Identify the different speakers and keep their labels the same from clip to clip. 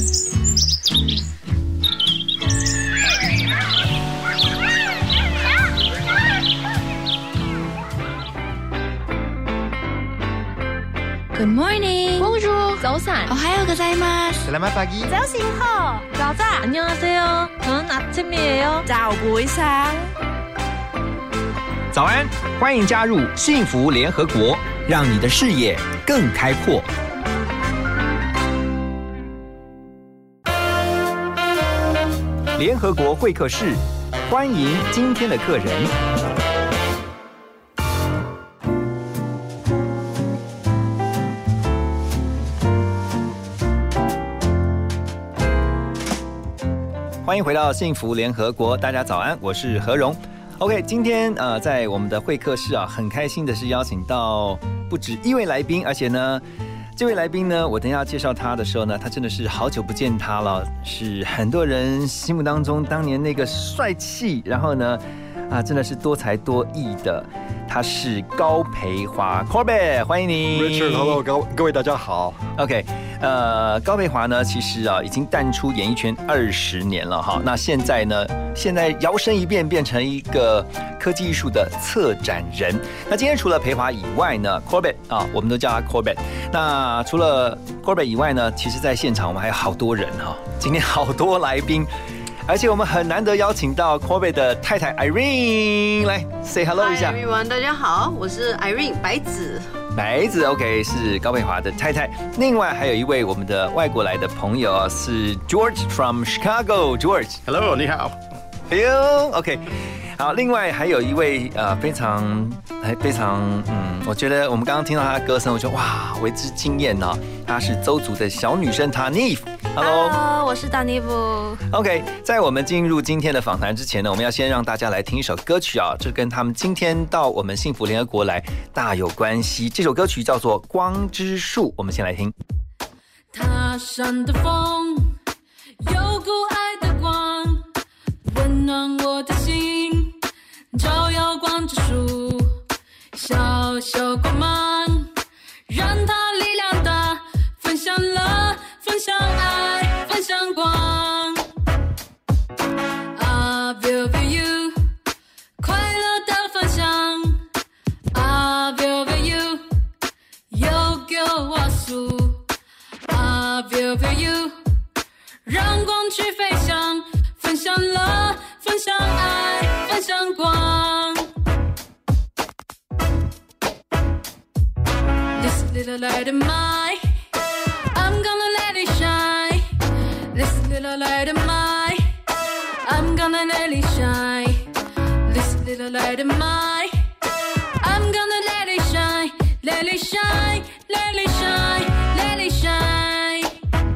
Speaker 1: Good morning.
Speaker 2: Bonjour. 早安.
Speaker 1: 오하요 고자이마스.
Speaker 3: Selamat pagi.
Speaker 2: 早醒好.早安. 안녕하세요. 저는 아침이에요.
Speaker 1: 早不一상
Speaker 4: 早安，欢迎加入幸福联合国，让你的视野更开阔。联合国会客室，欢迎今天的客人。欢迎回到幸福联合国，大家早安，我是何荣。OK， 今天在我们的会客室啊，很开心的是邀请到不止一位来宾，而且呢，这位来宾呢，我等一下介绍他的时候呢，他真的是好久不见他了，是很多人心目当中当年那个帅气，然后呢，真的是多才多艺的，他是高培华 Corbett， 欢迎你
Speaker 3: Richard，Hello， 各位大家好。
Speaker 4: OK， 高培华呢，其实已经淡出演艺圈20年了哈。那现在摇身一变，变成一个科技艺术的策展人。那今天除了培华以外呢 ，Corbett 我们都叫他 Corbett。那除了 Corbett 以外呢，其实在现场我们还有好多人哈，今天好多来宾。而且我们很难得邀请到 Corbett 的太太 Irene 来 say hello 一下。
Speaker 2: Hi everyone， 大家好，我是 Irene 白子。
Speaker 4: 白子 OK 是高培华的太太。另外还有一位我们的外国来的朋友是 George from Chicago。George，Hello，
Speaker 3: 你好。
Speaker 4: Hello OK。好，另外还有一位非常我觉得我们刚刚听到她的歌声，我觉得哇为之惊艳哦。她是邹族的小女生 Tanif。Hello，
Speaker 2: 我是 Tanif。OK，
Speaker 4: 在我们进入今天的访谈之前呢，我们要先让大家来听一首歌曲啊，这跟他们今天到我们幸福联合国来大有关系。这首歌曲叫做《光之树》，我们先来听。
Speaker 5: 他山的风，有股爱的光，温暖我的心，照耀光之树，小小光芒，让它力量大，分享爱，分享光。I will be you， 快乐的分享。I will be you， 有给我数。I will be you， 让光去飞翔，分享爱，分享光。This little light of mine，I'm gonna let it shine. This little light of mine, I'm gonna let it shine. This little light of mine, I'm gonna let it shine. Let it shine, let it shine, let it shine.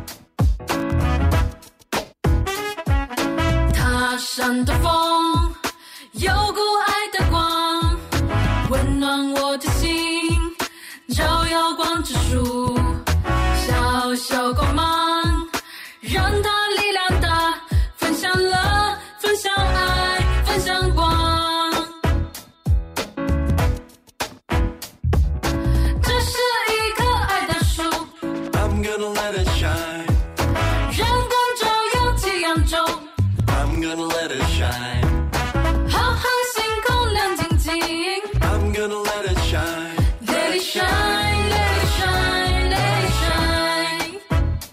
Speaker 5: 他山的风，有股爱的光，温暖我的心，照耀光之树，小小光芒，让它力量大，分享爱，分享光。这是一棵爱的树
Speaker 6: I'm gonna let it shine，
Speaker 5: 让光照耀夕阳中
Speaker 6: I'm gonna let it shine，
Speaker 5: 浩瀚星空亮晶晶
Speaker 6: I'm gonna let it shine，
Speaker 5: Let it shine, let it shine, let it shine。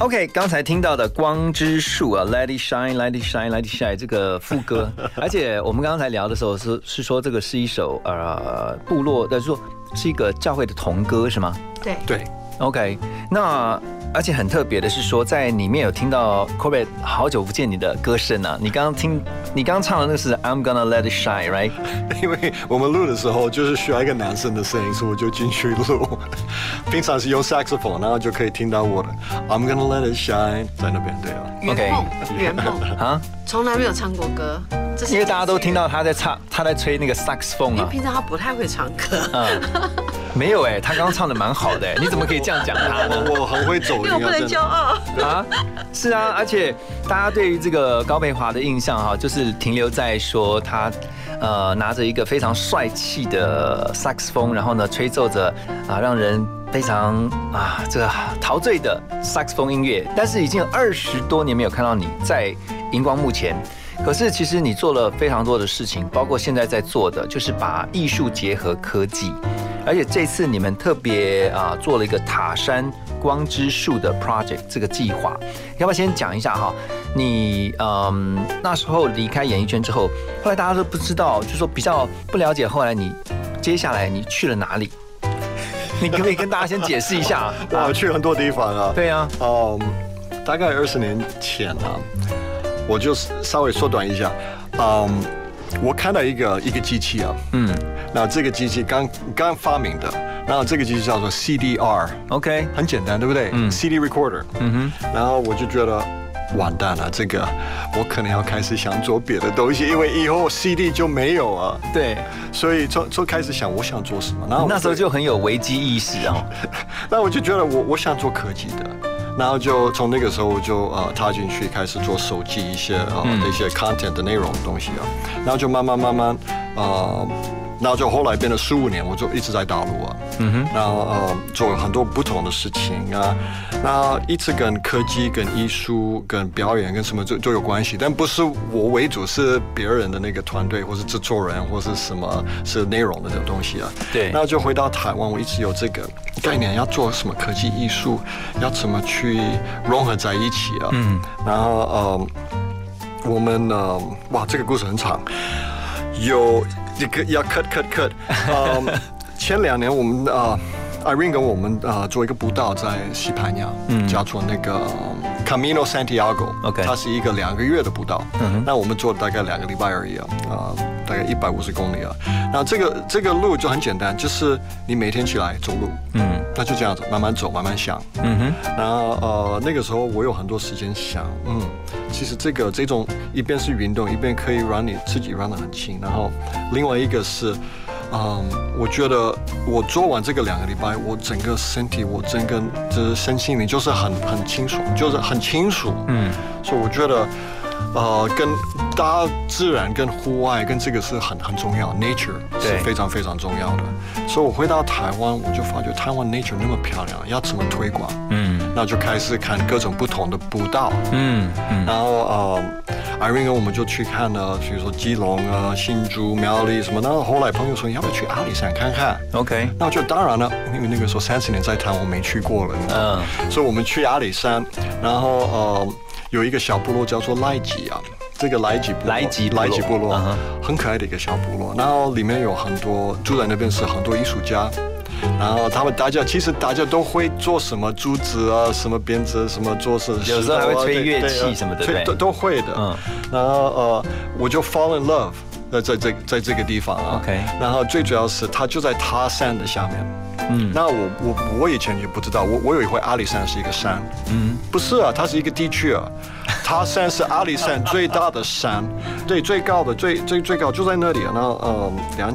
Speaker 4: OK， 刚才听到的《光之树》啊 ，Let It Shine, Let It Shine, Let It Shine 这个副歌，而且我们刚才聊的时候是说这个是一首部落的，说是一个教会的童歌是吗？
Speaker 3: 对。
Speaker 4: OK， 那而且很特别的是说，在里面有听到 Corbett 好久不见你的歌声啊！你刚刚唱的那个是 I'm gonna let it shine， right？
Speaker 3: 因为我们录的时候就是需要一个男生的声音，所以我就进去录。平常是用 saxophone， 然后就可以听到我的 I'm gonna let it shine 在那边，对啊。
Speaker 1: 圆梦
Speaker 4: 啊，
Speaker 1: 从来没有唱过歌，
Speaker 4: 因为大家都听到他在吹那个 saxophone 啊。
Speaker 1: 因为平常他不太会唱歌。
Speaker 4: 没有他刚刚唱的蛮好的你怎么可以这样讲他呢？
Speaker 3: 我很会走音啊，
Speaker 1: 因为我不能骄傲
Speaker 4: 啊！是啊，而且大家对于这个高培华的印象哈，就是停留在说他拿着一个非常帅气的萨克斯风，然后呢吹奏着让人非常这个陶醉的萨克斯风音乐。但是已经有20多年没有看到你在荧光幕前。可是其实你做了非常多的事情，包括现在在做的，就是把艺术结合科技。而且这次你们特别做了一个塔山光之树的 project 这个计划，要不要先讲一下哈？你那时候离开演艺圈之后，后来大家都不知道，就说比较不了解，后来你接下来你去了哪里？你可不可以跟大家先解释一下？
Speaker 3: 我去很多地方啊。
Speaker 4: 对啊。
Speaker 3: 大概20年前啊，我就稍微缩短一下。我看到一个机器啊，那这个机器刚发明的，然后这个机器叫做 CDR，OK， 很简单，对不对？CD recorder，然后我就觉得完蛋了，这个我可能要开始想做别的东西，因为以后 CD 就没有啊。对，所以就开始想我想做什么，然后
Speaker 4: 那时候就很有危机意识啊。
Speaker 3: 那我就觉得我想做科技的。然后就从那个时候我就踏进去开始做手机一些一些 content 的内容的东西啊，然后就慢慢然后就后来变了15年，我就一直在大陆啊，然后做很多不同的事情啊，那一直跟科技、跟艺术、跟表演、跟什么就有关系，但不是我为主，是别人的那个团队或是制作人或是什么是内容的这种东西啊。对，然后就回到台湾，我一直有这个概念，要做什么科技艺术，要怎么去融合在一起啊。然后我们哇，这个故事很长，有这个要 cut。前2年我们Irene 跟我们做一个步道在西班牙，叫做那个 Camino Santiago， 它是一个2个月的步道。那我们做了大概2个礼拜而已大概150公里啊。然后这个路就很简单，就是你每天起来走路，那就这样子慢慢走，慢慢想。然后那个时候我有很多时间想，其实这种一边是运动，一边可以让你自己让得很轻，然后另外一个是。我觉得我做完这个2个礼拜，我整个身体，我整个就是身心灵就是很清楚，就是很清楚。所以我觉得，跟大自然、跟户外、跟这个是很重要 ，nature 是非常非常重要的。所以我回到台湾，我就发觉台湾 nature 那么漂亮，要怎么推广？那就开始看各种不同的步道。然后Irene 跟我们就去看了，比如说基隆啊、新竹、苗栗什么。然后后来朋友说要不要去阿里山看看 ？OK， 那我就当然了，因为那个时候30年在台湾我没去过了，所以我们去阿里山，然后有一个小部落叫做赖吉啊。这个莱吉部落很可爱的一个小部落，然后里面有很多住在那边是很多艺术家，然后大家都会做什么竹子啊，什么编织，什么做事，
Speaker 4: 有时候还会吹乐器什么的，对，
Speaker 3: 都会的。然后我就 fall in love 在这个地方啊。OK， 然后最主要是它就在塔山的下面。那我以前也不知道，我以为阿里山是一个山，不是啊，它是一个地区啊。塔山是阿里山最大的山，对，最高的最高就在那里啊。然后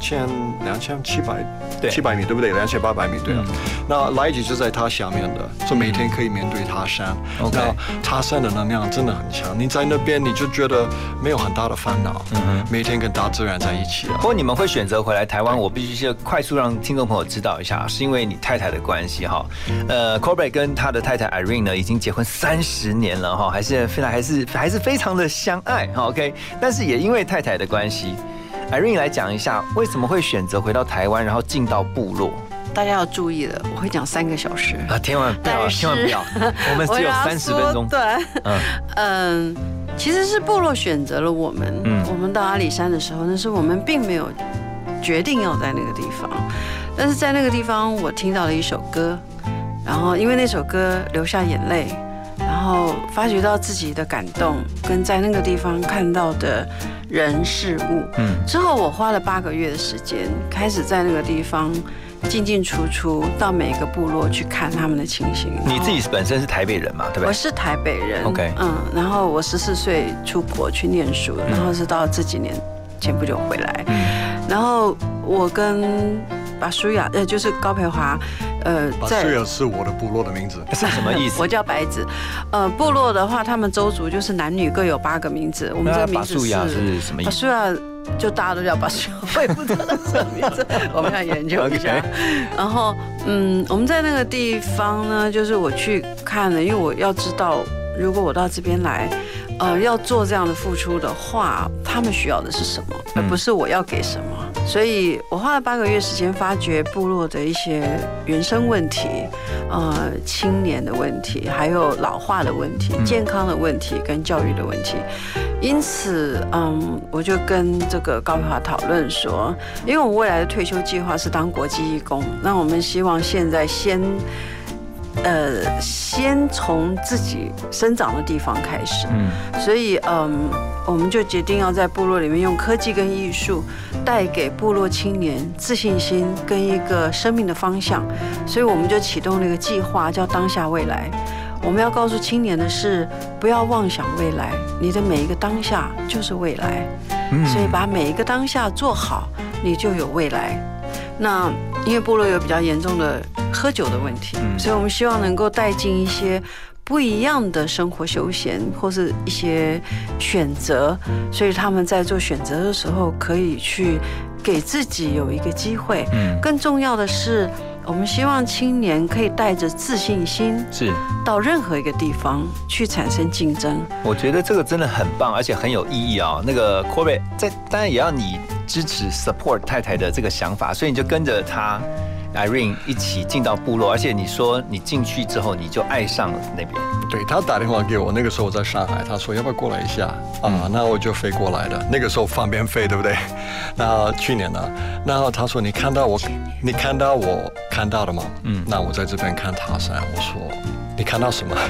Speaker 3: 2700米，对不对？2800米，对啊。那莱吉就在它下面的，所以每天可以面对塔山。那塔山的能量真的很强，你在那边你就觉得没有很大的烦恼，每天跟大自然在一起啊。
Speaker 4: 不过你们会选择回来台湾，我必须快速让听众朋友知道一下，是因为你太太的关系哈。Corbett 跟他的太太 Irene 呢，已经结婚30年了哈，还是非常的相爱哈 ，OK。但是也因为太太的关系 ，Irene 来讲一下，为什么会选择回到台湾，然后进到部落？
Speaker 1: 大家要注意了，我会讲3个小时
Speaker 4: 啊，千万不要，千万不要，我们只有30分钟。
Speaker 1: 对，其实是部落选择了我们。我们到阿里山的时候，那是我们并没有决定要在那个地方，但是在那个地方，我听到了一首歌，然后因为那首歌流下眼泪，然后发觉到自己的感动，跟在那个地方看到的人事物。之后我花了8个月的时间，开始在那个地方进进出出，到每个部落去看他们的情形。
Speaker 4: 你自己本身是台北人嘛，对不对？
Speaker 1: 我是台北人。
Speaker 4: OK，
Speaker 1: 然后我14岁出国去念书，然后是到这几年前不久回来。然后我跟巴舒亚，就是高培华，
Speaker 3: 巴舒亚是我的部落的名字，
Speaker 4: 是什么意思？
Speaker 1: 我叫白子。部落的话，他们邹族就是男女各有8个名字。我们这个名字
Speaker 4: 巴舒亚是什么意思？
Speaker 1: 巴舒亚就大家都叫巴舒亚，我也不知道他什么名字，我们要研究一下。然后，我们在那个地方呢，就是我去看了，因为我要知道，如果我到这边来。要做这样的付出的话，他们需要的是什么，而不是我要给什么。所以我花了8个月时间，发掘部落的一些原生问题，青年的问题，还有老化的问题、健康的问题跟教育的问题。因此，我就跟这个高培华讨论说，因为我们未来的退休计划是当国际义工，那我们希望现在先从自己生长的地方开始，所以我们就决定要在部落里面用科技跟艺术带给部落青年自信心跟一个生命的方向，所以我们就启动了一个计划，叫当下未来。我们要告诉青年的是，不要妄想未来，你的每一个当下就是未来，所以把每一个当下做好，你就有未来。那因为部落有比较严重的喝酒的问题，所以我们希望能够带进一些不一样的生活休闲或是一些选择，所以他们在做选择的时候可以去给自己有一个机会。更重要的是，我们希望青年可以带着自信心，是到任何一个地方去产生竞争。
Speaker 4: 我觉得这个真的很棒，而且很有意义啊。那个 Corbett 当然也要你支持 support 太太的这个想法，所以你就跟着她 Irene 一起进到部落，而且你说你进去之后你就爱上了那边。
Speaker 3: 对，他打电话给我，那个时候我在上海，他说要不要过来一下那我就飞过来的。那个时候方便飞，对不对？那去年呢，然后他说你看到我看到的吗？那我在这边看塔山，我说你看到什么？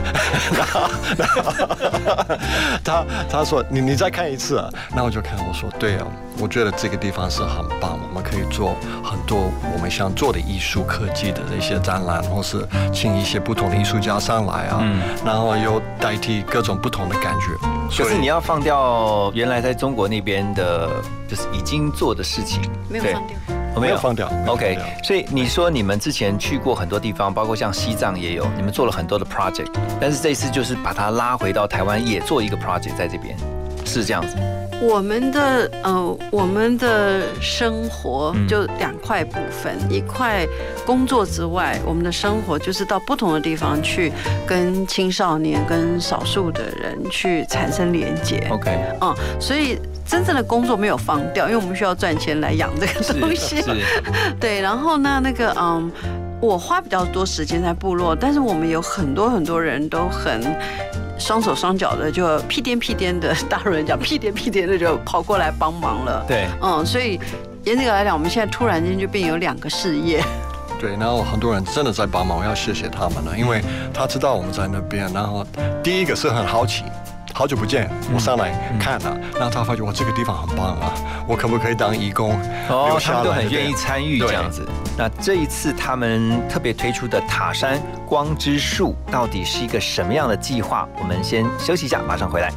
Speaker 3: 他说你再看一次啊，那我就看，我说对啊，我觉得这个地方是很棒，我们可以做很多我们想做的艺术科技的一些展览，或是请一些不同的艺术家上来啊，然后又代替各种不同的感觉。
Speaker 4: 可是你要放掉原来在中国那边的，就是已经做的事情，
Speaker 1: 没有放掉。
Speaker 3: 没有放掉
Speaker 4: ，OK。所以你说你们之前去过很多地方，包括像西藏也有，你们做了很多的 project， 但是这次就是把它拉回到台湾，也做一个 project 在这边，是这样子。
Speaker 1: 我们的生活就2块部分，一块工作之外，我们的生活就是到不同的地方去跟青少年、跟少数的人去产生连结。
Speaker 4: OK，
Speaker 1: 所以真正的工作没有放掉，因为我们需要赚钱来养这个东西。对，然后呢，我花比较多时间在部落，但是我们有很多人都很双手双脚的，就屁颠的，大陆人讲屁颠的就跑过来帮忙了。对，所以严格来讲，我们现在突然间就变有2个事业。
Speaker 3: 对，然后很多人真的在帮忙，我要谢谢他们了，因为他知道我们在那边，然后第一个是很好奇。好久不见，我上来看了，然后他发觉我这个地方很棒啊，我可不可以当义工？
Speaker 4: 他们都很愿意参与这样子。那这一次他们特别推出的塔山光之树，到底是一个什么样的计划？我们先休息一下，马上回来。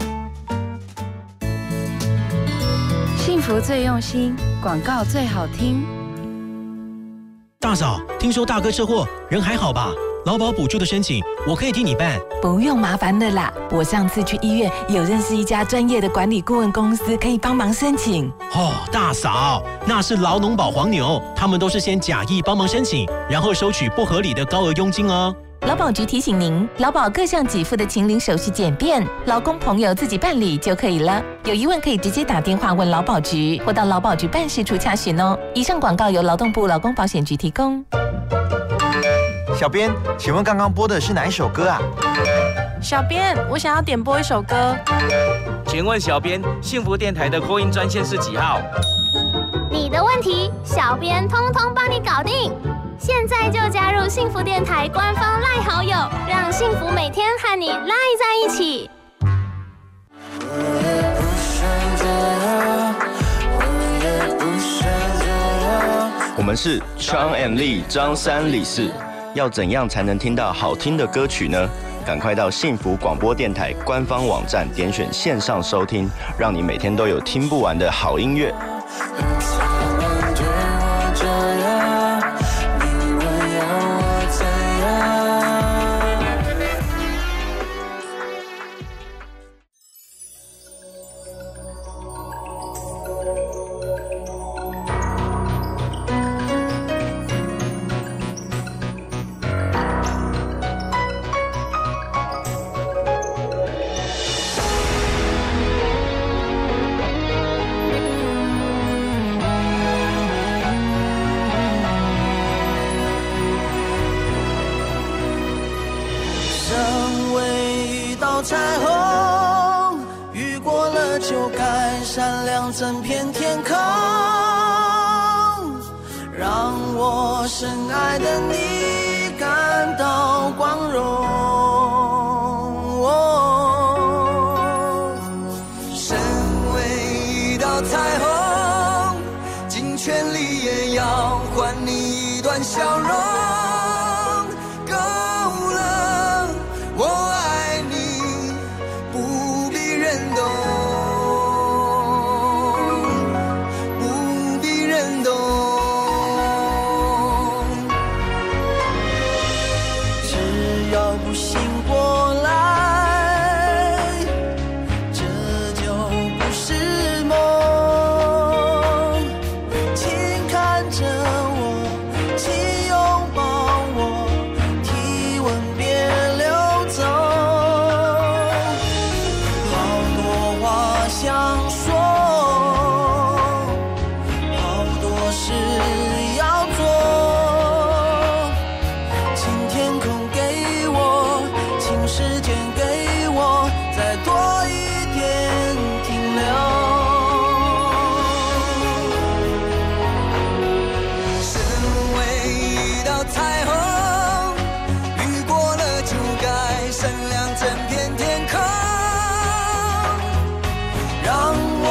Speaker 7: 幸福最用心，广告最好听。
Speaker 8: 大嫂，听说大哥车祸，人还好吧？劳保补助的申请，我可以替你办。
Speaker 9: 不用麻烦的啦，我上次去医院有认识一家专业的管理顾问公司，可以帮忙申请。
Speaker 8: 大嫂，那是劳农保黄牛，他们都是先假意帮忙申请，然后收取不合理的高额佣金哦。
Speaker 9: 劳保局提醒您，劳保各项给付的请领手续简便，劳工朋友自己办理就可以了。有疑问可以直接打电话问劳保局，或到劳保局办事处洽询哦。以上广告由劳动部劳工保险局提供。
Speaker 10: 小编，请问刚刚播的是哪一首歌啊？
Speaker 2: 小编，我想要点播一首歌。
Speaker 11: 请问小编，幸福电台的call in专线是几号？
Speaker 12: 你的问题，小编通通帮你搞定。现在就加入幸福电台官方赖好友，让幸福每天和你赖在一起。
Speaker 13: 我们是 Chang and Lee 张三李四，要怎样才能听到好听的歌曲呢？赶快到幸福广播电台官方网站点选线上收听，让你每天都有听不完的好音乐。
Speaker 14: 彩虹雨过了就该闪亮整片天空，让我深爱的你感到光荣。身为一道彩虹，尽全力也要还你一段笑容。够了，我爱你，不必认懂，不必认懂。只要不醒过来，这就不是梦。请看着我，请拥抱我，体温别流走。好多话想说，好多事要做。请天空给我，请时间给我，再多一点停留。身为一道彩虹，雨过了就该闪亮整片天空，让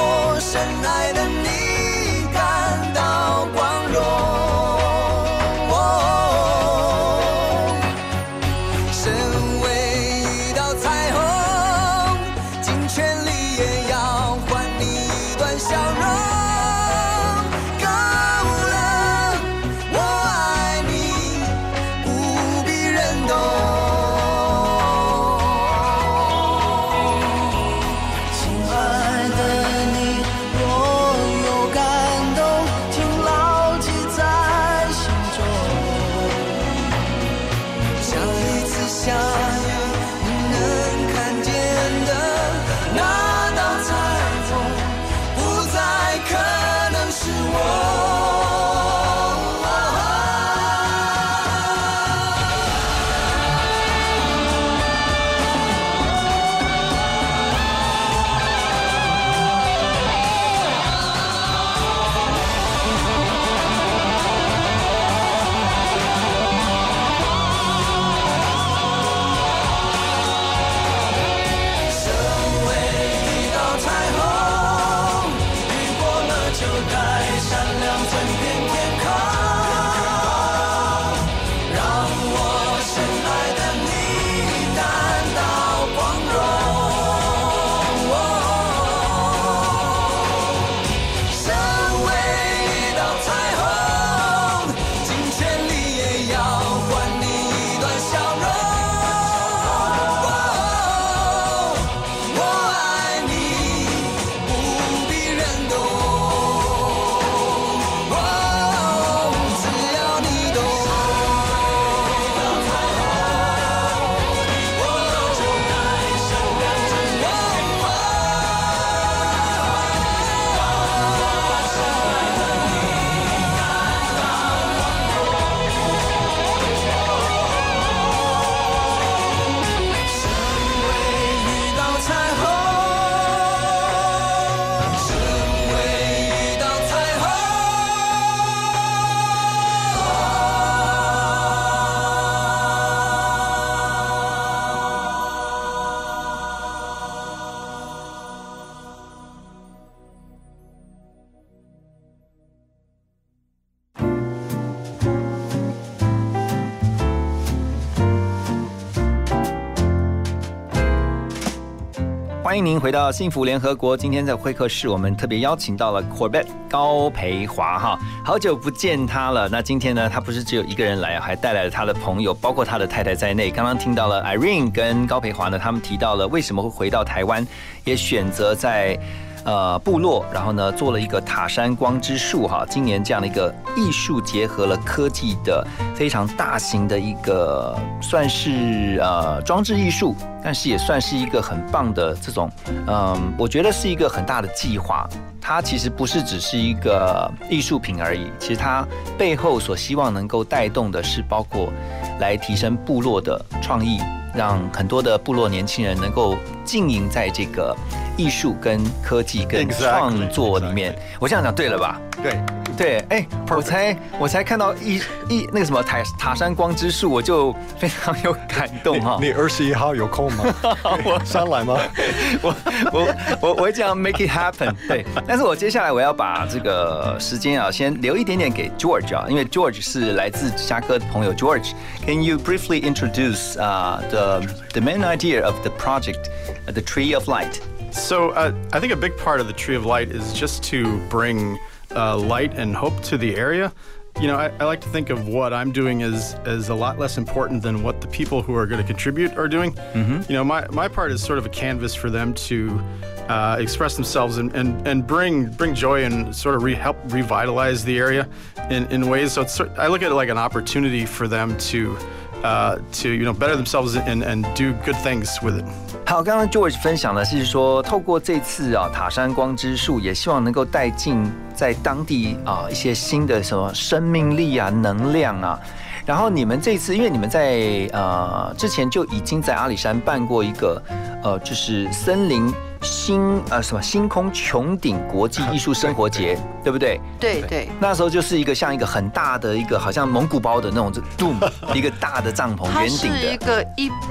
Speaker 4: 迎您回到幸福联合国。今天在会客室，我们特别邀请到了 Corbett 高培华哈，好久不见他了。那今天呢，他不是只有一个人来，还带来了他的朋友，包括他的太太在内。刚刚听到了 Irene 跟高培华呢，他们提到了为什么会回到台湾，也选择在部落，然后呢做了一个塔山光之树哈，今年这样的一个艺术结合了科技的非常大型的一个算是装置艺术，但是也算是一个很棒的这种我觉得是一个很大的计划。它其实不是只是一个艺术品而已，其实它背后所希望能够带动的是包括来提升部落的创意，让很多的部落年轻人能够经营在这个艺术跟科技跟创作里面。我这样讲对了吧？对，哎，我才看到那个什么塔山光之树，我就非常有感动哈。
Speaker 3: 你21号有空吗？我上来吗？
Speaker 4: 我会这样 make it happen。对，但是我接下来我要把这个时间啊，先留一点点给 George 啊，因为 George 是来自芝加哥的朋友。George，can you briefly introduce the main idea of the project, the Tree of Light?
Speaker 15: So I think a big part of the Tree of Light is just to bring light and hope to the area. You know, I like to think of what I'm doing as a lot less important than what the people who are going to contribute are doing. Mm-hmm. You know, my part is sort of a canvas for them to express themselves and bring joy and sort of help revitalize the area in ways. So I look at it like an opportunity for them to better themselves and do good things with it.
Speaker 4: 好，刚刚 George 分享的是说，透过这次塔山光之树，也希望能够带进在当地一些新的什么生命力啊、能量啊。然后你们这次，因为你们在之前就已经在阿里山办过一个就是森林星空穹顶国际艺术生活节，对不对？
Speaker 1: 对。
Speaker 4: 那时候就是一个像一个很大的一个好像蒙古包的那种 dome， 一个大的帐篷，圆顶的。
Speaker 1: 它是一个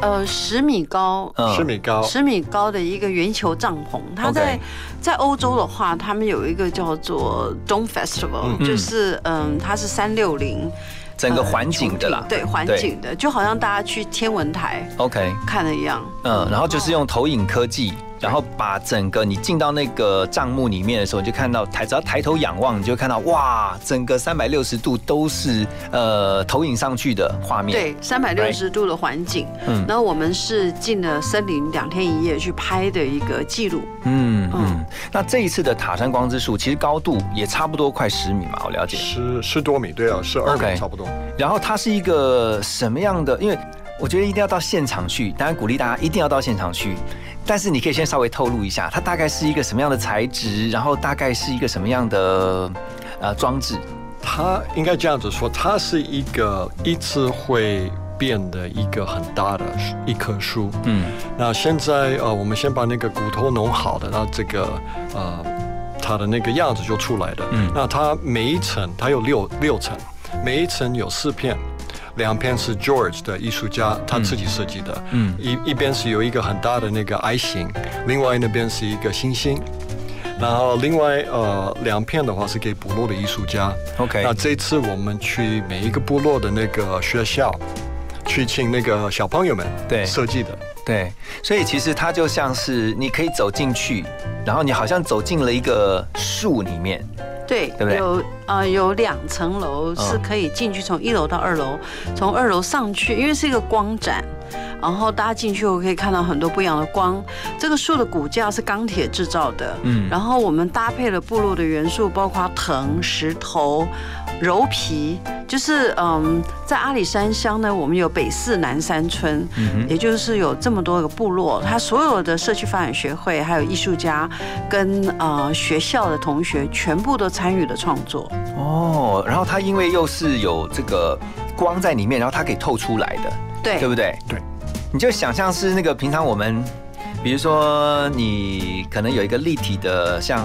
Speaker 1: 10米高，10米高的一个圆球帐篷。它在欧洲的话，他们有一个叫做 Dome Festival，就是它是360。
Speaker 4: 整个环境的啦，
Speaker 1: 对环境的，就好像大家去天文台
Speaker 4: OK
Speaker 1: 看的一样。
Speaker 4: 然后就是用投影科技，然后把整个你进到那个帐幕里面的时候，你就看到只要抬头仰望，你就看到哇，整个360度都是投影上去的画面。
Speaker 1: 对，360度的环境。然后我们是进了森林2天1夜去拍的一个记录。
Speaker 4: 那这一次的塔山光之树，其实高度也差不多快10米嘛，我了解。
Speaker 3: 10多米，对啊，12米差不多。
Speaker 4: 然后它是一个什么样的？因为我觉得一定要到现场去，当然鼓励大家一定要到现场去。但是你可以先稍微透露一下，它大概是一个什么样的材质，然后大概是一个什么样的装置？
Speaker 3: 它应该这样子说，它是一个一直会变的一个很大的一棵树。那现在我们先把那个骨头弄好的，然后这个它的那个样子就出来了。那它每一层它有六层，每一层有4片。2片是 George 的艺术家他自己设计的，一边是有一个很大的那个爱心，另外那边是一个星星，然后另外2片的话是给部落的艺术家。
Speaker 4: OK，
Speaker 3: 那这次我们去每一个部落的那个学校，去请那个小朋友们设计的。
Speaker 4: 对，所以其实它就像是你可以走进去，然后你好像走进了一个树里面。
Speaker 1: 对不对？有2层楼是可以进去，从1楼到2楼，从2楼上去，因为是一个光展，然后大家进去后可以看到很多不一样的光。这个树的骨架是钢铁制造的，然后我们搭配了部落的元素，包括藤、石头、柔皮，就是在阿里山乡呢，我们有北4南3村，也就是有这么多个部落，它所有的社区发展学会，还有艺术家跟学校的同学，全部都参与了创作。
Speaker 4: 然后它因为又是有这个光在里面，然后它可以透出来的，对不对？
Speaker 3: 对，
Speaker 4: 你就想象是那个平常我们，比如说你可能有一个立体的像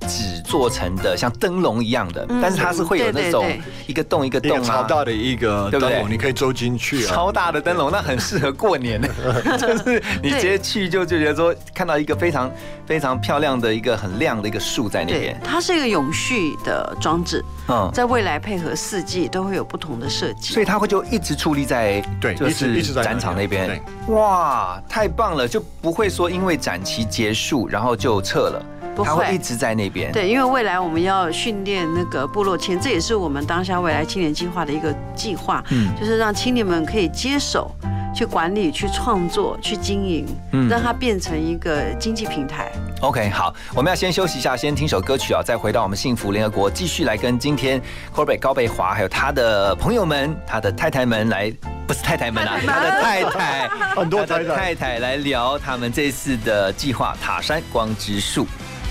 Speaker 4: 纸做成的，像灯笼一样的，但是它是会有那种一个洞一个洞啊，
Speaker 3: 超大的一个灯笼，你可以走进去啊，
Speaker 4: 超大的灯笼，那很适合过年，就是你直接去就觉得说看到一个非常非常漂亮的一个很亮的一个树在那边，
Speaker 1: 它是一个永续的装置，在未来配合4季都会有不同的设计，
Speaker 4: 所以它会就一直矗立在就是展场那边，哇，太棒了，就不会说因为展期结束然后就撤了。他会一直在那边。
Speaker 1: 对，因为未来我们要训练那个部落青年，这也是我们当下未来青年计划的一个计划，就是让青年们可以接手去管理、去创作、去经营，让它变成一个经济平台。
Speaker 4: OK， 好，我们要先休息一下，先听首歌曲啊，再回到我们幸福联合国，继续来跟今天 Corbett 高贝华还有他的朋友们、他的太太们来，不是太太们啊，他的太太，
Speaker 3: 很多
Speaker 4: 太太来聊他们这次的计划——塔山光之树。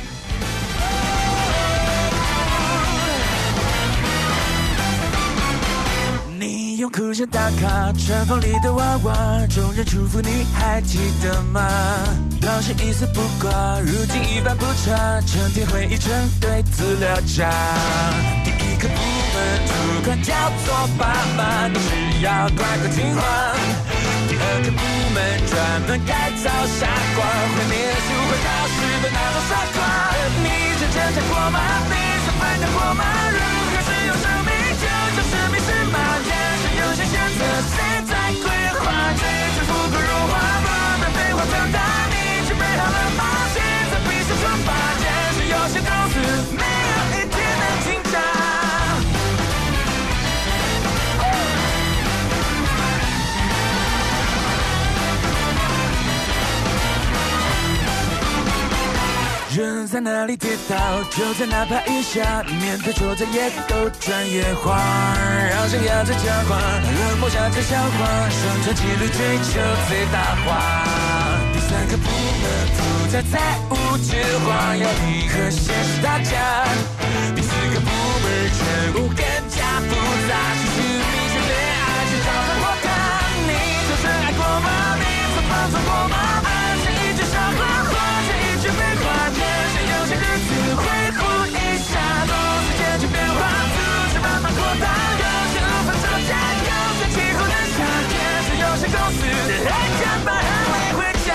Speaker 16: 用哭声打卡船房里的娃娃，众人祝福你还记得吗？当时一丝不挂，如今一发不差，成天回忆成堆资料夹。第一个部门主管叫做爸妈，你只要乖乖听话。第二个部门专门改造傻瓜，会念书会考试的那种傻瓜。你是挣扎过吗？你是反抗过吗？如何使用生命救救生命是吗？有些选择谁在规划？追逐富贵荣华，不能废话长大。你准备好了吗？现在必须出发。但是有些公司没有一天能进账。人在哪里跌倒，就在哪爬一下。面对挫折也都专业化，让生涯最强化，让梦想最消化，生存纪律追求最大化。第三个部门负责财务计划，要你和现实打架。第四个部门任务更加复杂，其实你是恋爱去找到我看。你曾深爱过吗？你曾放纵过吗？爱是一句笑话，或者一句废话。有些日子会呼一下，总是渐渐变化，组织慢慢扩大。有些无法招架，有些气候难下，也是有些公司还加班还没回家。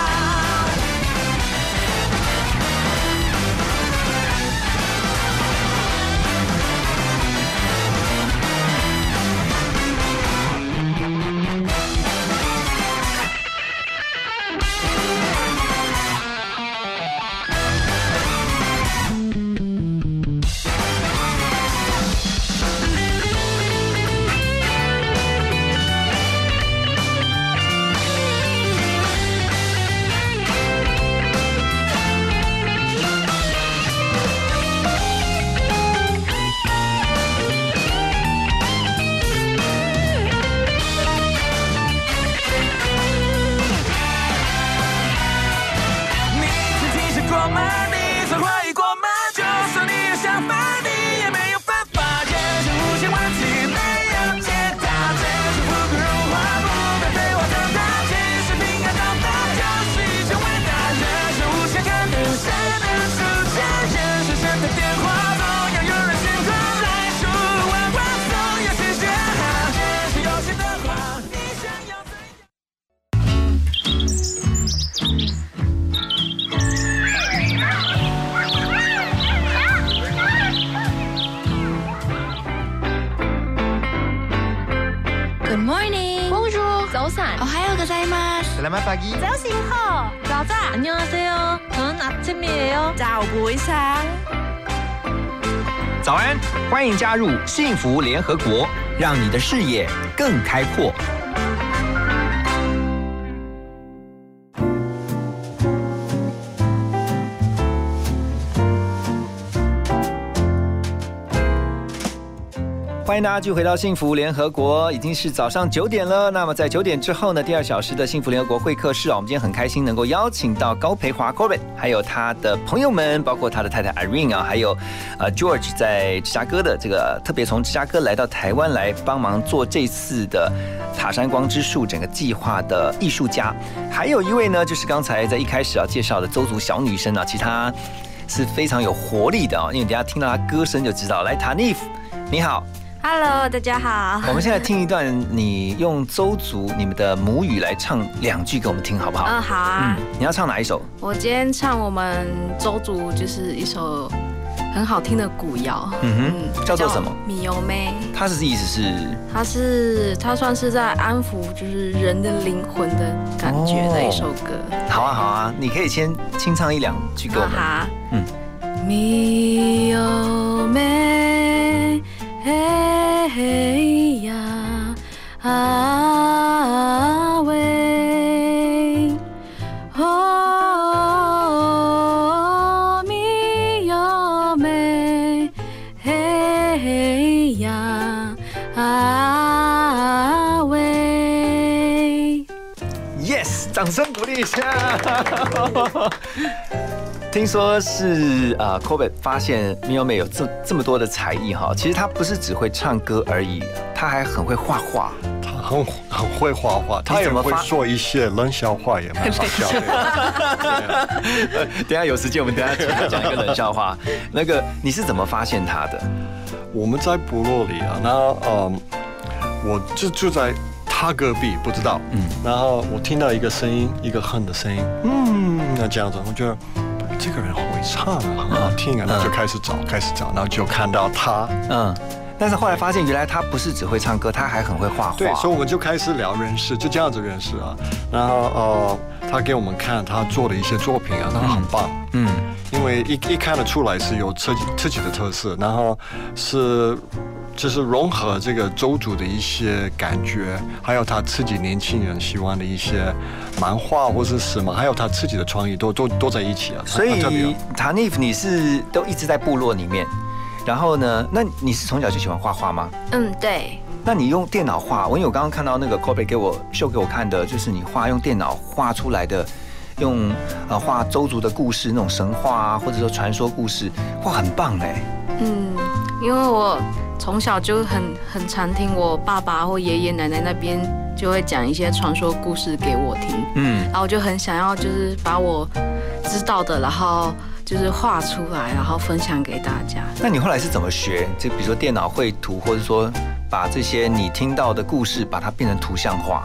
Speaker 10: Selamat pagi.
Speaker 2: 早上好. 자자, 안녕하세요. 저는 아침이에요. 자, 오보이상.
Speaker 4: 早安，欢迎加入幸福联合国，让你的视野更开阔。欢迎大家继续回到幸福联合国，已经是早上9点了。那么在9点之后呢，第2小时的幸福联合国会客室啊，我们今天很开心能够邀请到高培华 Corbett， 还有他的朋友们，包括他的太太 Irene 啊，还有George 在芝加哥的这个特别从芝加哥来到台湾来帮忙做这次的塔山光之树整个计划的艺术家。还有一位呢，就是刚才在一开始介绍的邹族小女生啊，其实她是非常有活力的哦，因为等一下听到他歌声就知道。来 ，Tanif， 你好。
Speaker 17: Hello， 大家好。
Speaker 4: 我们现在听一段你用邹族你们的母语来唱2句给我们听，好不好？
Speaker 17: 好啊。
Speaker 4: 你要唱哪一首？
Speaker 17: 我今天唱我们邹族就是一首很好听的古谣，
Speaker 4: 叫做什么？
Speaker 17: 米油妹。
Speaker 4: 它是意思是？
Speaker 17: 它算是在安抚就是人的灵魂的感觉的一首歌。
Speaker 4: 好啊，你可以先清唱1-2句给我们。
Speaker 17: 好。米油妹。嘿呀啊喂，哦咪哟妹，嘿呀啊喂。
Speaker 4: Yes， 掌声鼓励一下。听说是Kobe 发现 Miyo 有这么多的才艺哈，其实他不是只会唱歌而已，他还很会画画。
Speaker 3: 他很会画画，他也会说一些冷笑话，也蛮好笑的。
Speaker 4: 等一下有时间我们等一下讲一个冷笑话。那个你是怎么发现他的？
Speaker 3: 我们在部落里啊，那我就住在他隔壁，不知道。然后我听到一个声音，一个哼的声音，那这样子，我觉得。这个人会唱啊，很好听啊，那就开始找，然后就看到他，
Speaker 4: 但是后来发现原来他不是只会唱歌，他还很会画画。
Speaker 3: 对，所以我们就开始聊认识，就这样子认识啊。然后他给我们看他做的一些作品啊，那很棒。因为一看得出来是有自己的特色，然后就是融合这个邹族的一些感觉，还有他自己年轻人喜欢的一些漫画或是什么，还有他自己的创意都在一起啊。
Speaker 4: 所以 Tanif 你是都一直在部落里面，然后呢，那你是从小就喜欢画画吗？
Speaker 17: 对。
Speaker 4: 那你用电脑画，因为我刚刚看到那个 Kobe 秀给我看的，就是你用电脑画出来的。用画邹族的故事，那种神话啊，或者说传说故事，哇，很棒哎。
Speaker 17: 因为我从小就很常听我爸爸或爷爷奶奶那边就会讲一些传说故事给我听，然后我就很想要就是把我知道的，然后就是画出来，然后分享给大家。
Speaker 4: 那你后来是怎么学？就比如说电脑绘图，或者说把这些你听到的故事，把它变成图像化？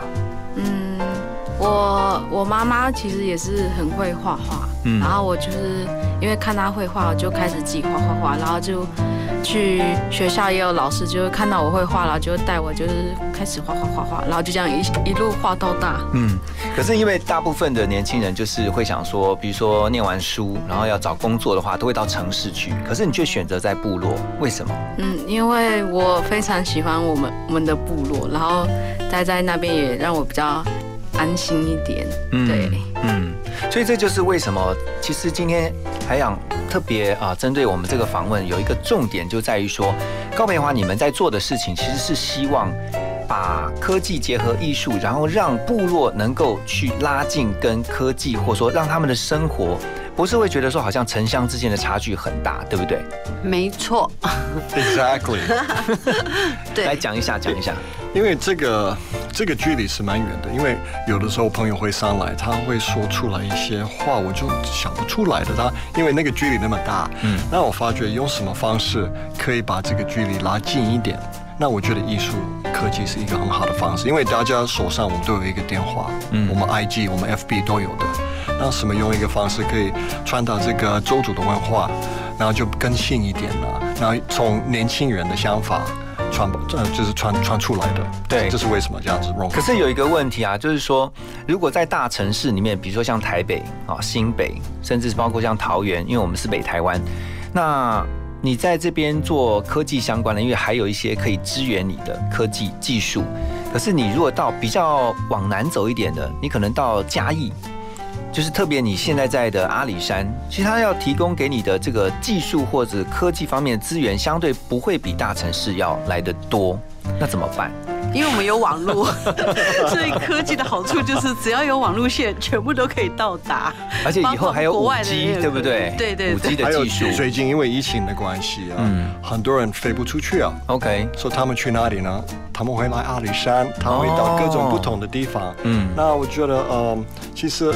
Speaker 17: 我妈妈其实也是很会画画，然后我就是因为看她会画，我就开始自己画，然后就去学校也有老师就会看到我会画，然后就带我就是开始画，然后就这样一路画到大。
Speaker 4: 可是因为大部分的年轻人就是会想说，比如说念完书，然后要找工作的话，都会到城市去，可是你却选择在部落，为什么？
Speaker 17: 因为我非常喜欢我们的部落，然后待在那边也让我比较安心一点。对，
Speaker 4: 所以这就是为什么，其实今天还想特别针对我们这个访问有一个重点，就在于说，高培华你们在做的事情其实是希望把科技结合艺术，然后让部落能够去拉近跟科技，或者说让他们的生活不是会觉得说好像城乡之间的差距很大，对不对？
Speaker 1: 没错
Speaker 3: ，Exactly
Speaker 1: 对，
Speaker 4: 来讲一下。
Speaker 3: 因为这个距离是蛮远的，因为有的时候朋友会上来，他会说出来一些话，我就想不出来的。因为那个距离那么大，那我发觉用什么方式可以把这个距离拉近一点？那我觉得艺术科技是一个很好的方式，因为大家手上我们都有一个电话，我们 IG、我们 FB 都有的。那什么用一个方式可以传达这个邹族的文化，然后就更新一点了，然后从年轻人的想法就是传出来的。
Speaker 4: 对，
Speaker 3: 这是为什么这样子融合。
Speaker 4: 可是有一个问题啊，就是说，如果在大城市里面，比如说像台北新北，甚至包括像桃园，因为我们是北台湾，那你在这边做科技相关的，因为还有一些可以支援你的科技技术。可是你如果到比较往南走一点的，你可能到嘉义，就是特别你现在的阿里山，其实它要提供给你的这个技术或者科技方面的资源，相对不会比大城市要来得多，那怎么办？
Speaker 1: 因为我们有网络，所以科技的好处就是只要有网路线，全部都可以到达。
Speaker 4: 而且以后还有5G，对不对？
Speaker 1: 对
Speaker 4: ，5G 的技术。
Speaker 3: 最近因为疫情的关系啊，很多人飞不出去啊。
Speaker 4: OK，
Speaker 3: 所以他们去哪里呢？他们会来阿里山，他们会到各种不同的地方。那我觉得，其实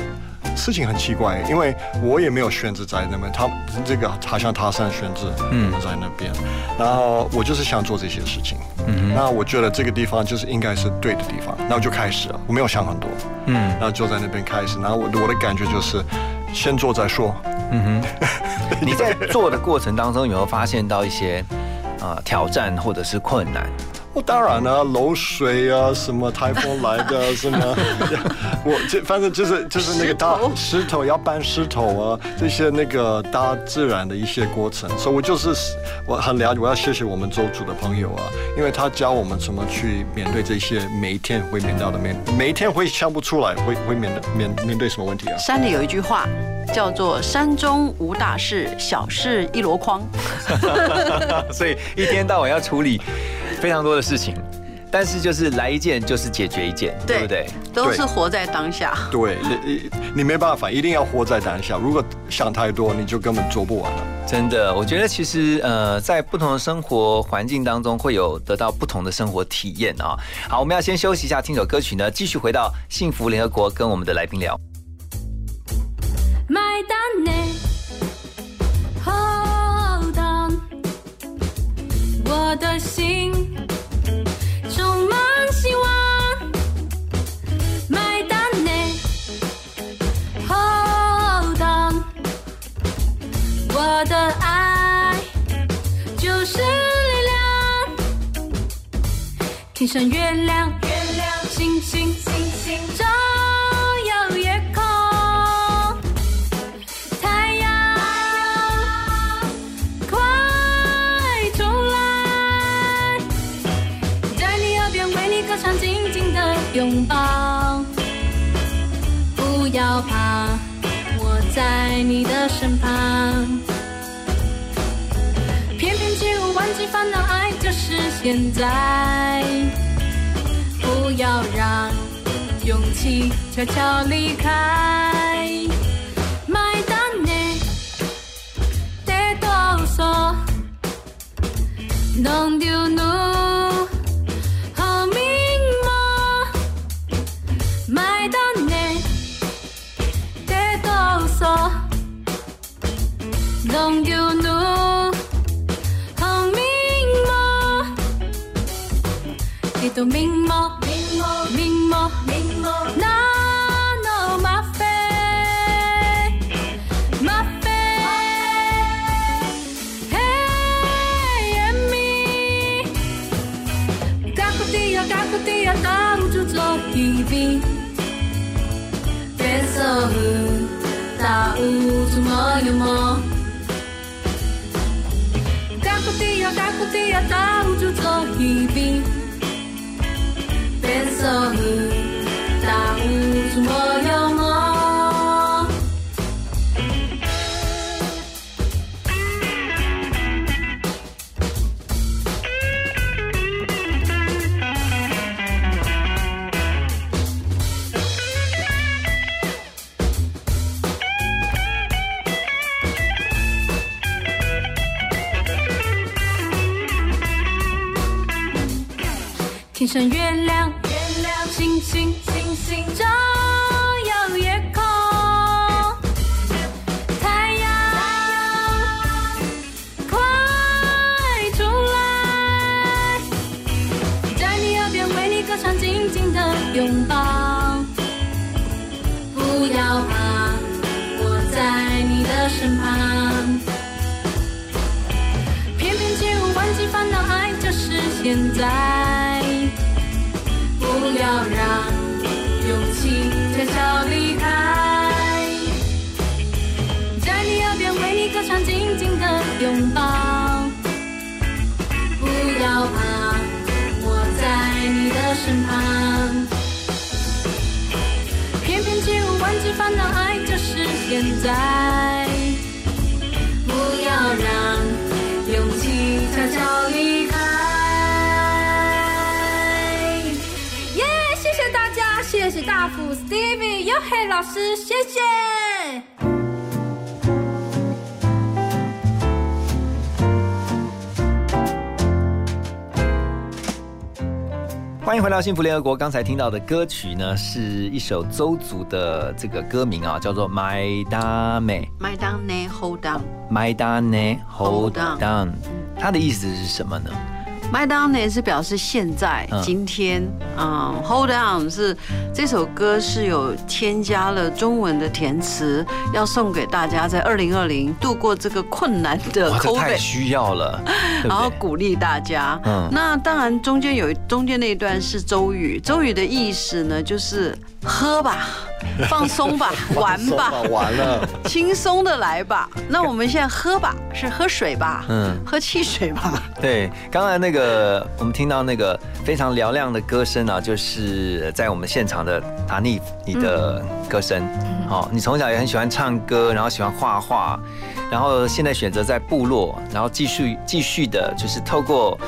Speaker 3: 事情很奇怪，因为我也没有选择在那边，这个好像他山选择在那边，然后我就是想做这些事情，那我觉得这个地方就是应该是对的地方，然后就开始了，我没有想很多，然后就在那边开始，然后我的感觉就是先做再说。
Speaker 4: 你在做的过程当中有没有发现到一些挑战或者是困难？
Speaker 3: 当然了，漏水啊，什么台风来的，什么，反正就是那个大石头要搬石头啊，这些那个大自然的一些过程，所以我很了解，我要谢谢我们州主的朋友啊，因为他教我们怎么去面对这些每一天会面到的每一天会想不出来会面对什么问题啊。
Speaker 1: 山里有一句话叫做山中无大事，小事一箩筐。
Speaker 4: 所以一天到晚要处理非常多的事情，但是就是来一件就是解决一件， 对不对？
Speaker 1: 都是活在当下。
Speaker 3: 对，你没办法，一定要活在当下。如果想太多，你就根本做不完了。
Speaker 4: 真的，我觉得其实在不同的生活环境当中，会有得到不同的生活体验啊。好，我们要先休息一下，听首歌曲呢，继续回到幸福联合国，跟我们的来宾聊。
Speaker 5: 麦当内 Hold on， 我的心充满希望。麦当内 Hold on， 我的爱就是力量。天上月亮，星星，照耀夜空。紧紧的拥抱，不要怕，我在你的身旁。翩翩起舞，忘记烦恼，爱就是现在。不要让勇气悄悄离开。麦当内得多少，弄丢怒。麦当内得多少，弄丢怒，好明目，你都明目，那 no 马飞，嘿咪，嘎古迪亚，打不住做一笔。大雾怎么有梦？嘎古迪亚，大雾就做一笔。变色雾，大雾怎么有梦？天上月亮，星星，照耀夜空。太阳，快出来，在你耳边为你歌唱，紧紧的拥抱。不要怕，我在你的身旁。翩翩起舞，忘记烦恼，爱就是现在。不要让勇气悄悄离开，在你耳边为你歌唱，紧紧的拥抱。不要怕，我在你的身旁。翩翩起舞，忘记烦恼，爱就是现在。不要让勇气悄悄离开。谢谢大福 Stevie 又黑老师，谢谢。
Speaker 4: 欢欢迎回到幸福联合国。刚才听到的歌曲呢，是一首邹族的这个歌名啊，叫做《My Dame》。
Speaker 1: My Dame Hold
Speaker 4: Down。My Dame Hold Down。它的意思是什么呢
Speaker 1: ？My Dame 是表示现在、今天，Hold On 是这首歌是有添加了中文的填词，要送给大家在2020度过这个困难的 COVID，
Speaker 4: 这太需要了，
Speaker 1: 然后鼓励大家。那当然中间那一段是周语，周语的意思呢就是喝吧。放松吧，玩吧，
Speaker 3: 完了，
Speaker 1: 轻松的来吧。那我们现在喝吧，是喝水吧？喝汽水吧。
Speaker 4: 对，刚才那个我们听到那个非常嘹亮的歌声啊，就是在我们现场的达尼你的歌声。你从小也很喜欢唱歌，然后喜欢画画，然后现在选择在部落，然后继续的，就是透过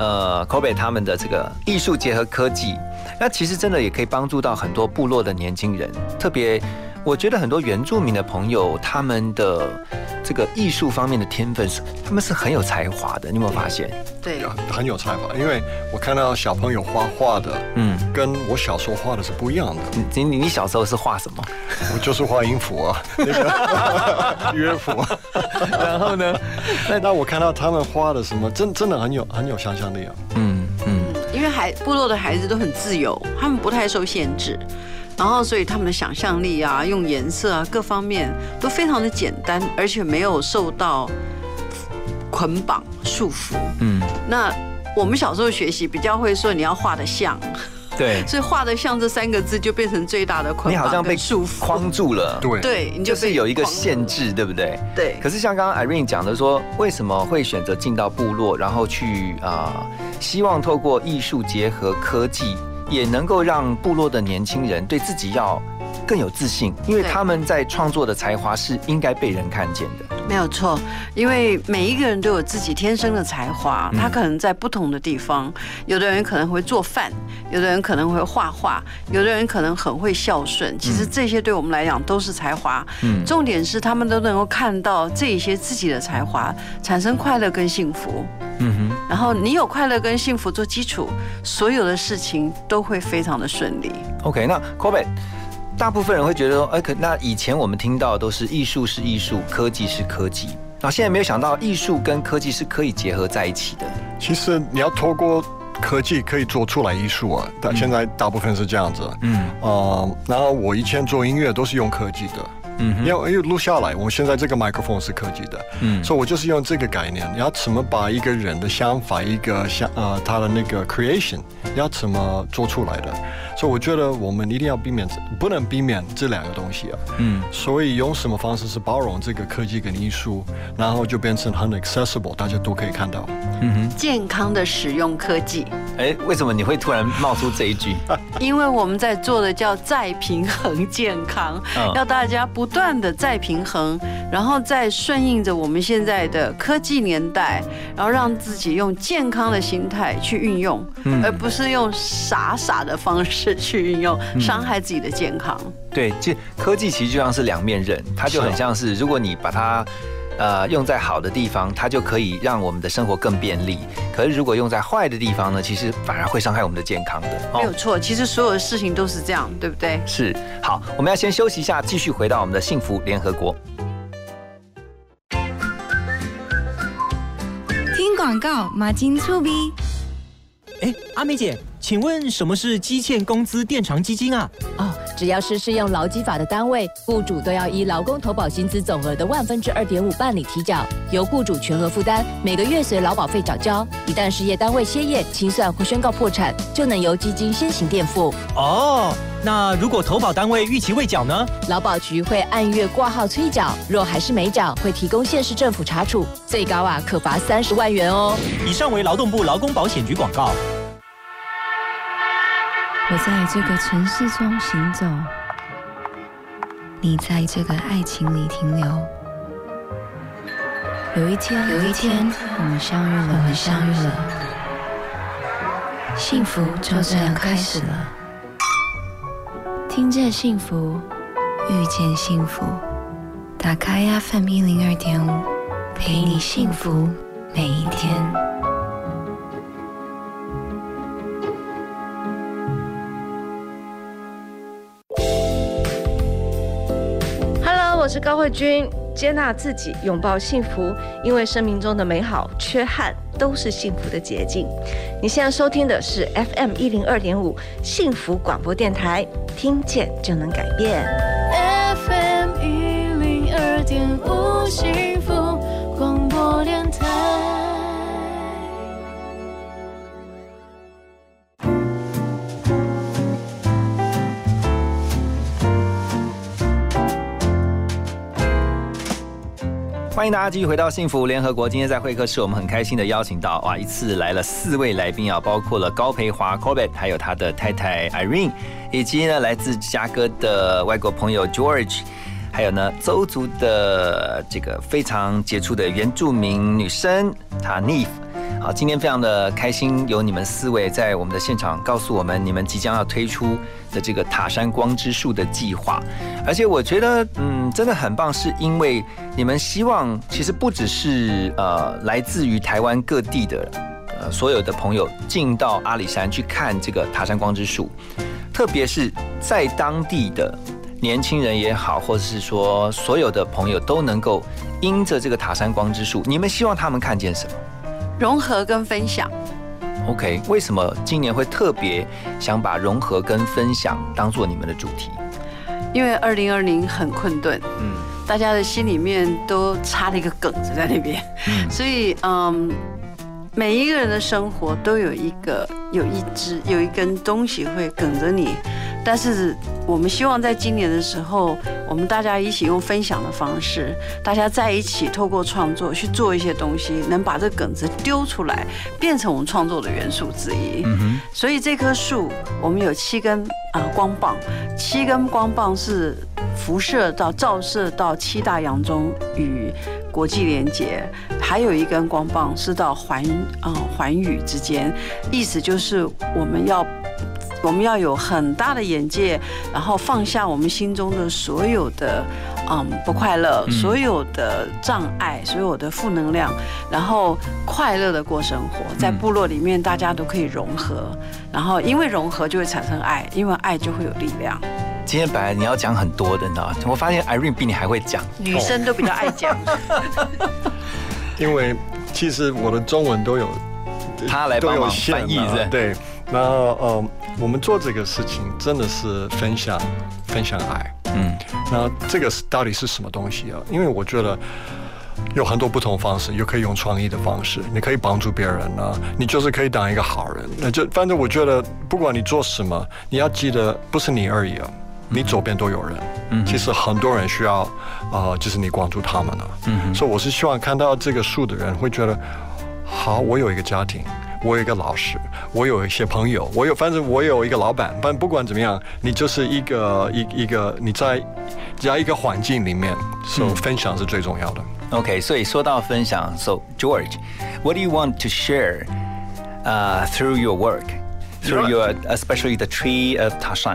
Speaker 4: Kobe 他们的这个艺术结合科技。那其实真的也可以帮助到很多部落的年轻人，特别我觉得很多原住民的朋友，他们的这个艺术方面的天分，他们是很有才华的，你有没有发现？
Speaker 1: 对，
Speaker 3: 很有才华。因为我看到小朋友画画的，跟我小时候画的是不一样的。
Speaker 4: 你小时候是画什么？
Speaker 3: 我就是画音符啊，那个乐谱。
Speaker 4: 然后呢？
Speaker 3: 那我看到他们画的什么，真的很有想象力啊。
Speaker 1: 因为部落的孩子都很自由，他们不太受限制，然后所以他们的想象力啊、用颜色啊各方面都非常的简单，而且没有受到捆绑束缚。那我们小时候学习比较会说你要画得像。
Speaker 4: 对，
Speaker 1: 所以画得像这3个字就变成最大的捆绑，
Speaker 4: 你好像被
Speaker 1: 束缚
Speaker 4: 框住了，
Speaker 1: 对，你
Speaker 4: 就是有一个限制，对不对？
Speaker 1: 对。
Speaker 4: 可是像刚刚 Irene 讲的说，为什么会选择进到部落，然后去希望透过艺术结合科技，也能够让部落的年轻人对自己要更有自信，因为他们在创作的才华是应该被人看见的。
Speaker 1: 没有错，因为每一个人都有自己天生的才华，他可能在不同的地方，有的人可能会做饭，有的人可能会画画，有的人可能很会孝顺。其实这些对我们来讲都是才华。重点是他们都能够看到这些自己的才华，产生快乐跟幸福。然后你有快乐跟幸福做基础，所有的事情都会非常的顺利。
Speaker 4: OK， 那 Kobe。大部分人会觉得说，那以前我们听到的都是艺术是艺术，科技是科技，然后现在没有想到艺术跟科技是可以结合在一起的。其实你要透过科技可以做出来艺术啊，但现在大部分是这样子。然后我以前做音乐都是用科技的。因为录下来，我现在这个麦克风是科技的，所以我就是用这个概念，你要怎么把一个人的想法，他的那个 creation， 要怎么做出来的？所以我觉得我们一定要不能避免这2个东西啊。所以用什么方式是包容这个科技跟艺术，然后就变成很 accessible， 大家都可以看到。
Speaker 1: 健康的使用科技。
Speaker 4: 为什么你会突然冒出这一句？
Speaker 1: 因为我们在做的叫再平衡健康，要大家不断的再平衡，然后再顺应着我们现在的科技年代，然后让自己用健康的心态去运用，而不是用傻的方式去运用，伤害自己的健康。对，科技其实就像是2面刃，它就很像是如果你把它用在好的地方，它就可以让我们的生活更便利。可是如果用在坏的地方呢，其实反而会伤害我们的健康的。没有错，其实所有的事情都是这样，对不对？是。好，我们要先休息一下，继续回到我们的幸福联合国。
Speaker 7: 听广告，马金醋逼。
Speaker 8: 阿美姐，请问什么是基欠工资垫偿基金啊？
Speaker 18: 只要是适用劳基法的单位，雇主都要依劳工投保薪资总额的2/2.5办理提缴，由雇主全额负担，每个月随劳保费缴交。一旦事业单位歇业、清算或宣告破产，就能由基金先行垫付。
Speaker 8: 那如果投保单位逾期未缴呢？
Speaker 18: 劳保局会按月挂号催缴，若还是没缴，会提供县市政府查处，最高可罚30万元哦。
Speaker 8: 以上为劳动部劳工保险局广告。
Speaker 7: 我在这个城市中行走，你在这个爱情里停留。有一天，我们相遇了，幸福就这样开始了。听见幸福，遇见幸福，打开 FM 102.5，陪你幸福每一天。
Speaker 19: 高慧君，接纳自己，拥抱幸福，因为生命中的美好、缺憾都是幸福的捷径。你现在收听的是 FM 102.5幸福广播电台，听见就能改变。
Speaker 5: FM 102.5幸福广播电台。
Speaker 4: 欢迎大家继续回到幸福联合国。今天在会客室，我们很开心的邀请到一次来了4位来宾啊，包括了高培华 Corbett， 还有他的太太 Irene， 以及呢来自芝加哥的外国朋友 George， 还有呢邹族的这个非常杰出的原住民女生 Tanif。好，今天非常的开心，有你们4位在我们的现场告诉我们你们即将要推出的这个塔山光之树的计划，而且我觉得真的很棒，是因为你们希望其实不只是来自于台湾各地的所有的朋友进到阿里山去看这个塔山光之树，特别是在当地的年轻人也好，或者是说所有的朋友都能够因着这个塔山光之树，你们希望他们看见什么？
Speaker 1: 融合跟分享。
Speaker 4: OK， 为什么今年会特别想把融合跟分享当做你们的主题？
Speaker 1: 因为2020很困顿，大家的心里面都插了一个梗子在那边，所以每一个人的生活都有一根东西会梗着你，但是我们希望在今年的时候，我们大家一起用分享的方式，大家在一起透过创作去做一些东西，能把这梗子丢出来，变成我们创作的元素之一。所以这棵树我们有7根光棒，7根光棒是照射到7大洋中与国际连结，还有1根光棒是到环宇之间，意思就是我们要有很大的眼界，然后放下我们心中的所有的不快乐，所有的障碍，所有的负能量，然后快乐的过生活。在部落里面，大家都可以融合，然后因为融合就会产生爱，因为爱就会有力量。
Speaker 4: 今天本来你要讲很多的，你知道吗？我发现 Irene 比你还会讲，
Speaker 1: 女生都比较爱讲。
Speaker 3: 因为其实我的中文都有，
Speaker 4: 他来帮忙翻译的，
Speaker 3: 对。然后我们做这个事情真的是分享爱，那这个到底是什么东西啊？因为我觉得有很多不同方式，又可以用创意的方式，你可以帮助别人啊，你就是可以当一个好人。那就反正我觉得，不管你做什么，你要记得不是你而已啊，你周边都有人。其实很多人需要就是你关注他们了。所以我是希望看到这个树的人会觉得，好，我有一个家庭。我有一个老师，我有一些朋友，反正我有一个老板。但不管怎么样，你就是一个你在一个环境里面，所以分享是最重要的。
Speaker 4: OK， 所以说到分享 ，So George, what do you want to share through your work, through your especially the tree of Tashan?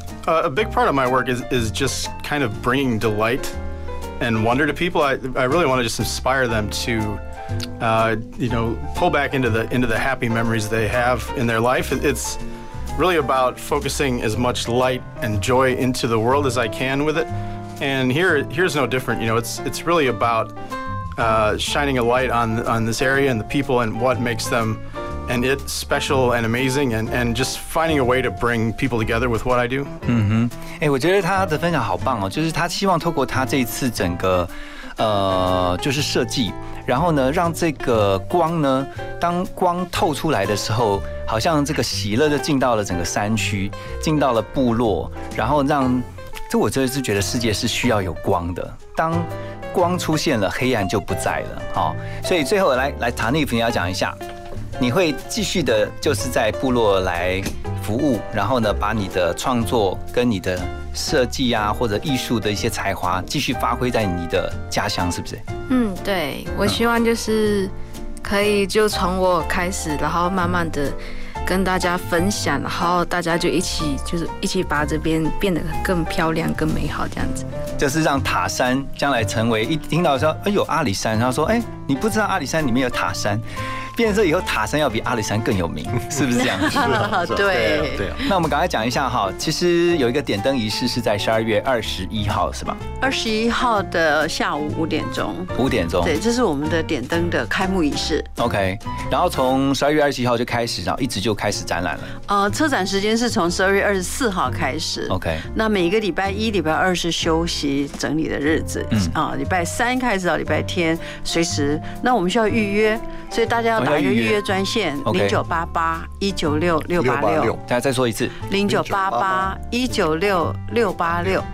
Speaker 15: A big part of my work is just kind of bringing delight and wonder to people. I really want to just inspire them to. Pull back into the happy memories they have in their life. It's really about focusing as much light and joy into the world as I can with it. And here's no different. It's really about shining a light on this area and the people and what makes them and it special and amazing and just finding a way to bring people together with what I do.
Speaker 4: 我觉得他的分享好棒哦，就是他希望透过他这一次整个就是设计。然后呢，让这个光呢，当光透出来的时候，好像这个喜乐就进到了整个山区，进到了部落，然后我真的是觉得世界是需要有光的。当光出现了，黑暗就不在了。所以最后来Tanif，你要讲一下，你会继续的，就是在部落来服务，然后呢，把你的创作跟你的设计啊，或者艺术的一些才华，继续发挥在你的家乡，是不是？
Speaker 17: 对，我希望就是可以就从我开始，然后慢慢的跟大家分享，然后大家就一起把这边变得更漂亮、更美好，这样子。
Speaker 4: 就是让塔山将来成为一听到说，有阿里山，然后说， 你不知道阿里山里面有塔山，变成说以后塔山要比阿里山更有名，是不是这样？
Speaker 1: 对。
Speaker 4: 那我们赶快讲一下哈，其实有一个点灯仪式是在12月21号，是吧
Speaker 1: ？21号的下午5点钟。
Speaker 4: 5点钟。
Speaker 1: 对，这是我们的点灯的开幕仪式。
Speaker 4: OK， 然后从12月21号就开始，然后一直就开始展览了。
Speaker 1: 车展时间是从12月24号开始。
Speaker 4: OK，
Speaker 1: 那每个礼拜1、礼拜2是休息整理的日子。礼拜3开始到礼拜天，随时。那我们需要预约，所以大家要打一个预约专线0988-196-686。
Speaker 4: 大家再说一次
Speaker 1: ，0988-196-686。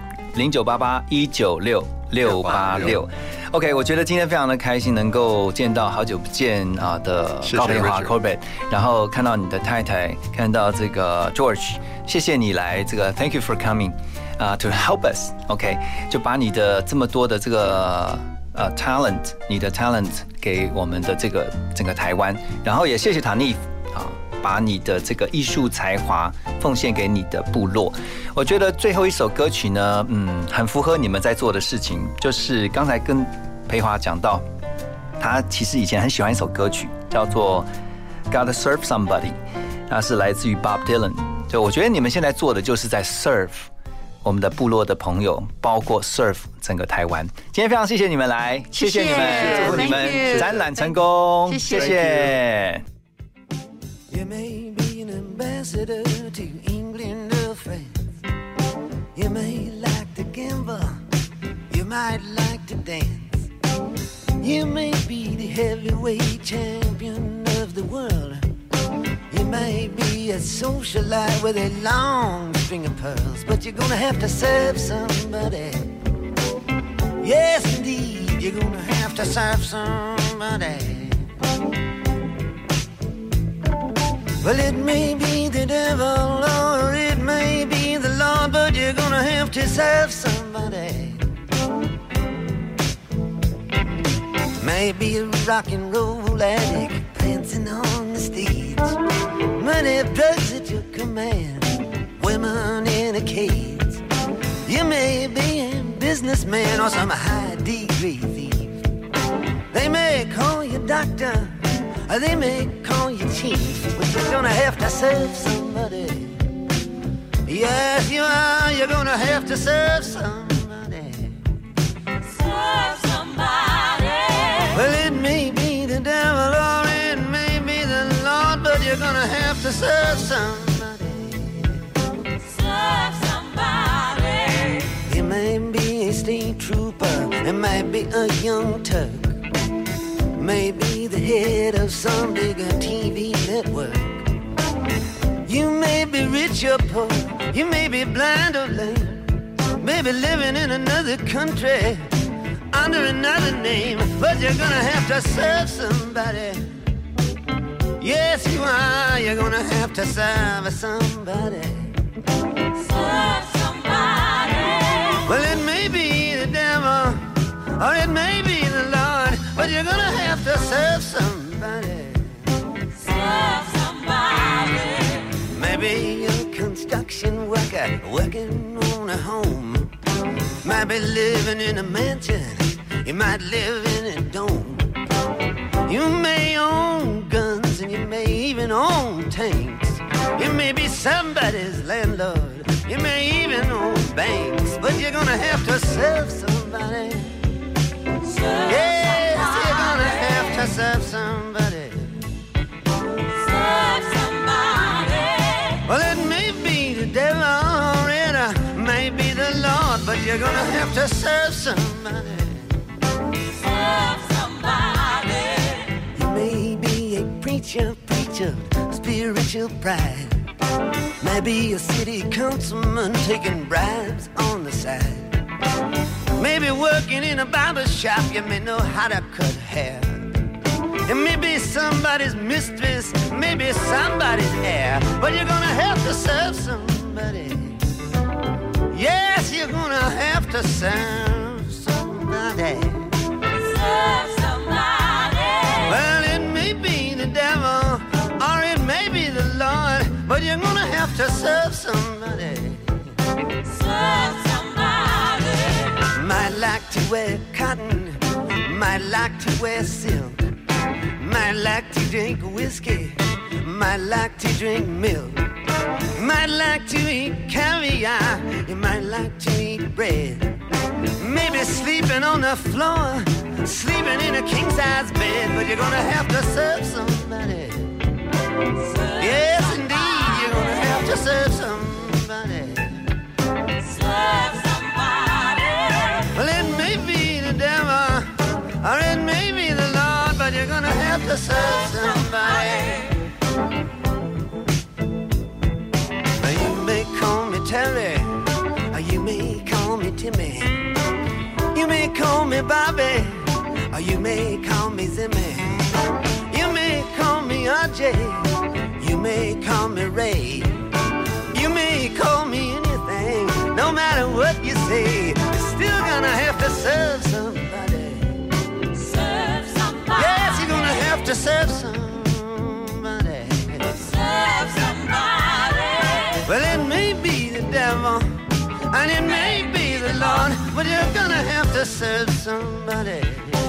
Speaker 4: 0988-196-686。OK， 我觉得今天非常的开心，能够见到好久不见的高培华 Corbett， 然后看到你的太太，看到这个 George， 谢谢你来这个 Thank you for coming to help us。OK， 就把你的这么多的这个talent， 你的 talent 给我们的这个整个台湾，然后也谢谢塔妮把你的这个艺术才华奉献给你的部落。我觉得最后一首歌曲呢，很符合你们在做的事情，就是刚才跟培华讲到，他其实以前很喜欢一首歌曲，叫做《Gotta Serve Somebody》，那是来自于 Bob Dylan。就我觉得你们现在做的就是在 serve 我们的部落的朋友，包括 serve 整个台湾。今天非常谢谢你们来，谢谢你们，祝福你们展览成功，谢谢。
Speaker 14: You may be an ambassador to England or France. You may like to gamble. You might like to dance. You may be the heavyweight champion of the world. You may be a socialite with a long string of pearls, but you're gonna have to serve somebody. Yes, indeed, you're gonna have to serve somebody.Well, it may be the devil or it may be the Lord, but you're gonna have to serve somebody. Maybe a rock and roll addict prancing on the stage, money, drugs at your command, women in a cage. You may be a businessman or some high-degree thief. They may call you doctor,or they may call you chief, but you're gonna have to serve somebody. Yes, you are. You're gonna have to serve somebody. Serve somebody. Well, it may be the devil or it may be the Lord, but you're gonna have to serve somebody. Serve somebody. You may be a state trooper, it might be a young Turk.Maybe the head of some bigger TV network. You may be rich or poor, you may be blind or lame, maybe living in another country under another name, but you're gonna have to serve somebody. Yes, you are. You're gonna have to serve somebody. Serve somebody. Well, it may be the devil or it may be the Lord.But you're gonna have to serve somebody. Serve somebody. Maybe you're a construction worker working on a home. Might be living in a mansion. You might live in a dome. You may own guns and you may even own tanks. You may be somebody's landlord. You may even own banks. But you're gonna have to serve somebody. Yeah.To serve somebody. Serve somebody. Well, it may be the devil or it may be the Lord, but you're gonna have to serve somebody. Serve somebody. You may be a preacher, spiritual pride. Maybe a city councilman taking bribes on the side. Maybe working in a barber shop, you may know how to cut hair.It may be somebody's mistress, maybe somebody's heir, but you're gonna have to serve somebody. Yes, you're gonna have to serve somebody. Serve somebody. Well, it may be the devil or it may be the Lord, but you're gonna have to serve somebody. Serve somebody. Might like to wear cotton, Might like to wear silk, might like to drink whiskey, might like to drink milk, might like to eat caviar, you might like to eat bread. Maybe sleeping on the floor, sleeping in a king-size bed, but you're gonna have to serve somebody. Yes, indeed, you're gonna have to serve somebody. Serve somebody. Well, it may be the devil, or it may be the Lord, but you're gonna have to serve somebody. You may call me Terry, or you may call me Timmy. You may call me Bobby, or you may call me Zimmy. You may call me RJ, you may call me Ray. You may call me anything, no matter what you say. You're still gonna have to serve somebody. Serve somebody. Yes, you're gonna have to serve somebody. Serve somebody. Well, it may be the devil, and it may be the Lord, but you're gonna have to serve somebody.